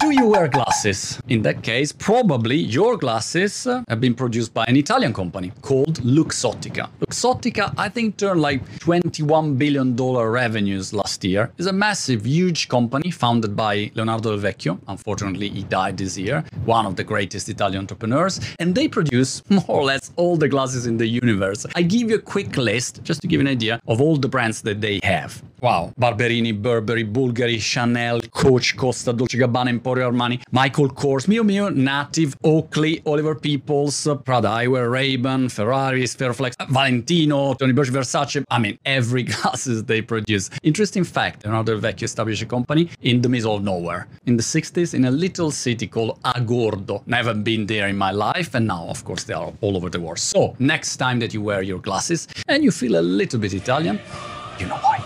Do you wear glasses? In that case, probably your glasses have been produced by an Italian company called Luxottica. Luxottica, I think, turned like $21 billion revenues last year. It's a massive, huge company founded by Leonardo Del Vecchio. Unfortunately, he died this year. One of the greatest Italian entrepreneurs. And they produce more or less all the glasses in the universe. I give you a quick list, just to give you an idea of all the brands that they have. Wow. Barberini, Burberry, Bulgari, Chanel, Coach, Costa, Dolce Gabbana, Emporio Armani, Michael Kors, Miu Miu, Native, Oakley, Oliver Peoples, Prada Eyewear, Ray-Ban, Ferrari, Fairflex, Valentino, Tony Berger, Versace. I mean, every glasses they produce. Interesting fact, Leonardo Del Vecchio established a company in the middle of nowhere. In the 60s, in a little city called Agordo. Never been there in my life, and now, of course, they are all over the world. So, next time that you wear your glasses and you feel a little bit Italian, you know why.